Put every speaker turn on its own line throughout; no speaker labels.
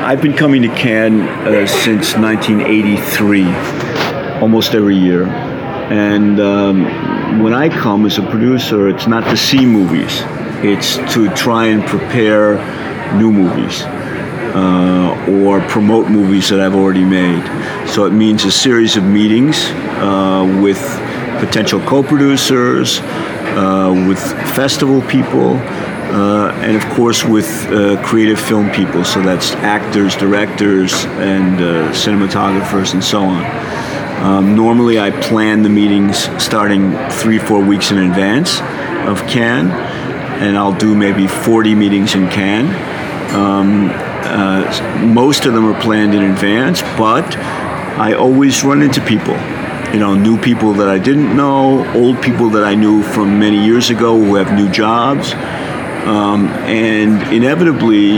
I've been coming to Cannes since 1983, almost every year. And when I come as a producer, it's not to see movies. It's to try and prepare new movies or promote movies that I've already made. So it means a series of meetings with potential co-producers, with festival people, and of course with creative film people. So that's actors, directors, and cinematographers, and so on. Normally I plan the meetings starting 3-4 weeks in advance of Cannes, and I'll do maybe 40 meetings in Cannes. Most of them are planned in advance, but I always run into people. New people that I didn't know, old people that I knew from many years ago who have new jobs. And inevitably,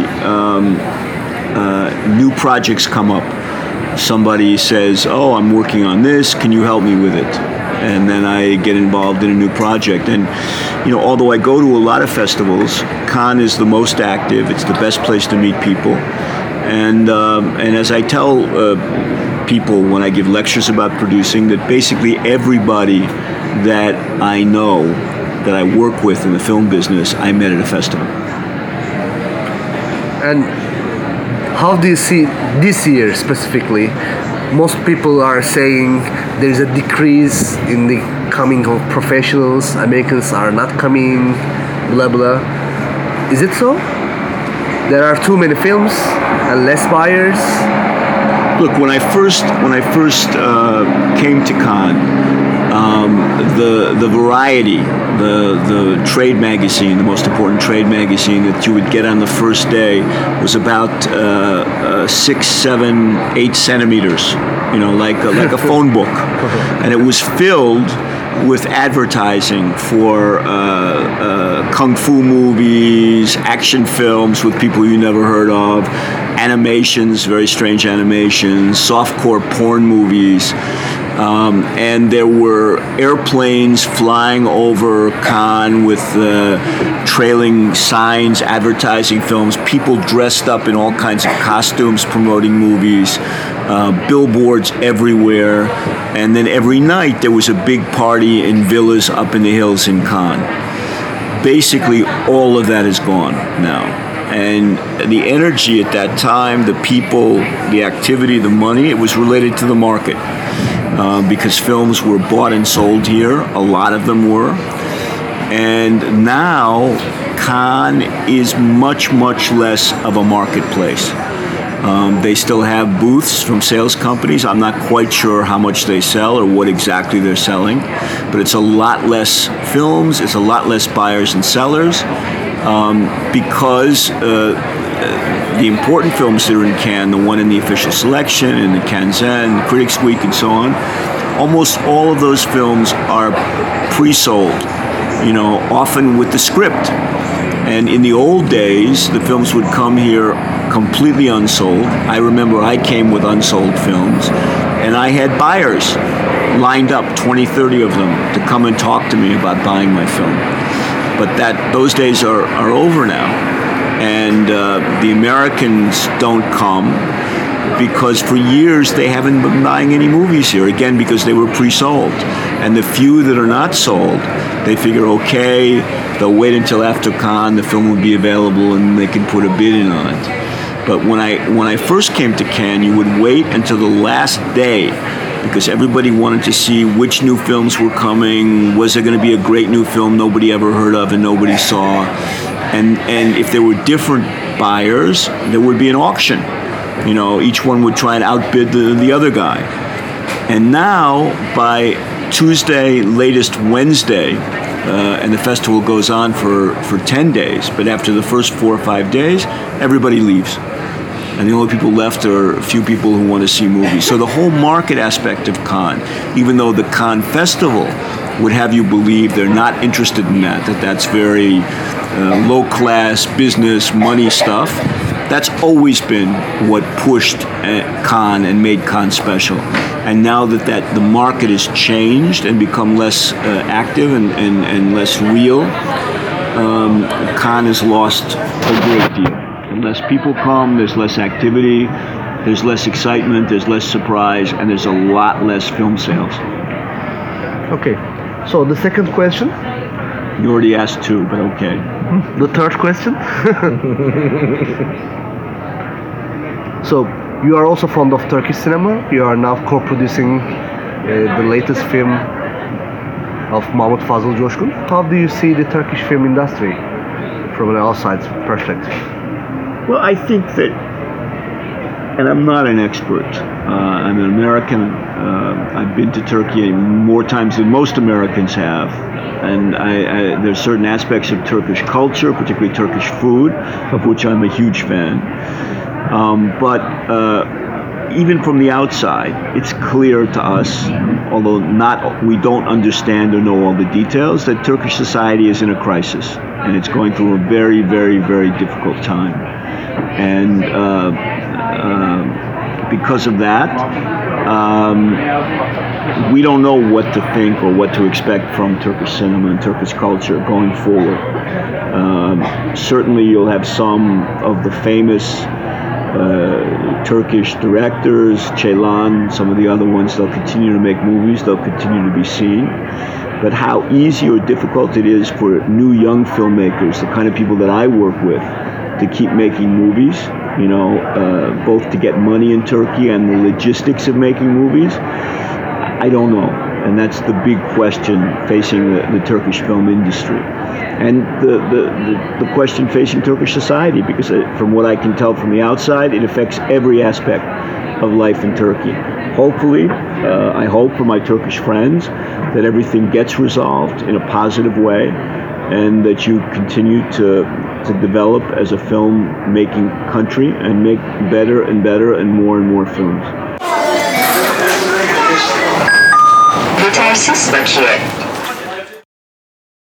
new projects come up. Somebody says, "Oh, I'm working on this, can you help me with it?" And then I get involved in a new project. And, although I go to a lot of festivals, Cannes is the most active. It's the best place to meet people. And as I tell people when I give lectures about producing, that basically everybody that I know, that I work with in the film business, I met at a festival.
And how do you see this year specifically? Most people are saying there's a decrease in the coming of professionals. Americans are not coming, blah blah. Is it so? There are too many films and less buyers.
Look, when I first came to Cannes, the Variety, the trade magazine, the most important trade magazine that you would get on the first day, was about 6, 7, 8 centimeters, like a phone book, and it was filled with advertising for kung fu movies, action films with people you never heard of, animations, very strange animations, softcore porn movies. And there were airplanes flying over Cannes with trailing signs advertising films, people dressed up in all kinds of costumes promoting movies, billboards everywhere, and then every night there was a big party in villas up in the hills in Cannes. Basically, all of that is gone now. And the energy at that time, the people, the activity, the money, it was related to the market. Because films were bought and sold here, a lot of them were. And now, Cannes is much, much less of a marketplace. They still have booths from sales companies. I'm not quite sure how much they sell or what exactly they're selling, but it's a lot less films, it's a lot less buyers and sellers, because the important films that are in Cannes, the one in the official selection, and the Cannes-en, the Critics' Week, and so on, almost all of those films are pre-sold, often with the script. And in the old days, the films would come here completely unsold. I remember I came with unsold films, and I had buyers lined up, 20, 30 of them, to come and talk to me about buying my film. But those days are over now. And the Americans don't come because for years they haven't been buying any movies here, again, because they were pre-sold. And the few that are not sold, they figure, okay, they'll wait until after Cannes, the film will be available, and they can put a bid in on it. But when I first came to Cannes, you would wait until the last day, because everybody wanted to see which new films were coming, was there going to be a great new film nobody ever heard of and nobody saw. And if there were different buyers, there would be an auction. Each one would try and outbid the other guy. And now, by Tuesday, latest Wednesday, and the festival goes on for 10 days, but after the first 4 or 5 days, everybody leaves. And the only people left are a few people who want to see movies. So the whole market aspect of Cannes, even though the Cannes Festival would have you believe they're not interested in that's very low-class business, money stuff, that's always been what pushed Cannes and made Cannes special. And now that the market has changed and become less active and less real, Cannes has lost a great deal. The less people come, there's less activity, there's less excitement, there's less surprise, and there's a lot less film sales.
Okay. So the second question,
You already asked two, but okay.
the third question. So you are also fond of Turkish cinema. You are now co-producing the latest film of Mahmut Fazıl Coşkun. How do you see the Turkish film industry from an outside perspective?
Well, I think that, and I'm not an expert. I'm an American. I've been to Turkey more times than most Americans have, and there's certain aspects of Turkish culture, particularly Turkish food, of which I'm a huge fan. But even from the outside, it's clear to us, although we don't understand or know all the details, that Turkish society is in a crisis, and it's going through a very, very, very difficult time. And because of that, we don't know what to think or what to expect from Turkish cinema and Turkish culture going forward. Certainly you'll have some of the famous Turkish directors, Ceylan, some of the other ones, they'll continue to make movies, they'll continue to be seen. But how easy or difficult it is for new young filmmakers, the kind of people that I work with, to keep making movies, both to get money in Turkey and the logistics of making movies, I don't know. And that's the big question facing the Turkish film industry. And the question facing Turkish society, because from what I can tell from the outside, it affects every aspect of life in Turkey. Hopefully, I hope for my Turkish friends that everything gets resolved in a positive way and that you continue to develop as a film-making country and make better and more films.
Yetersiz bakiye.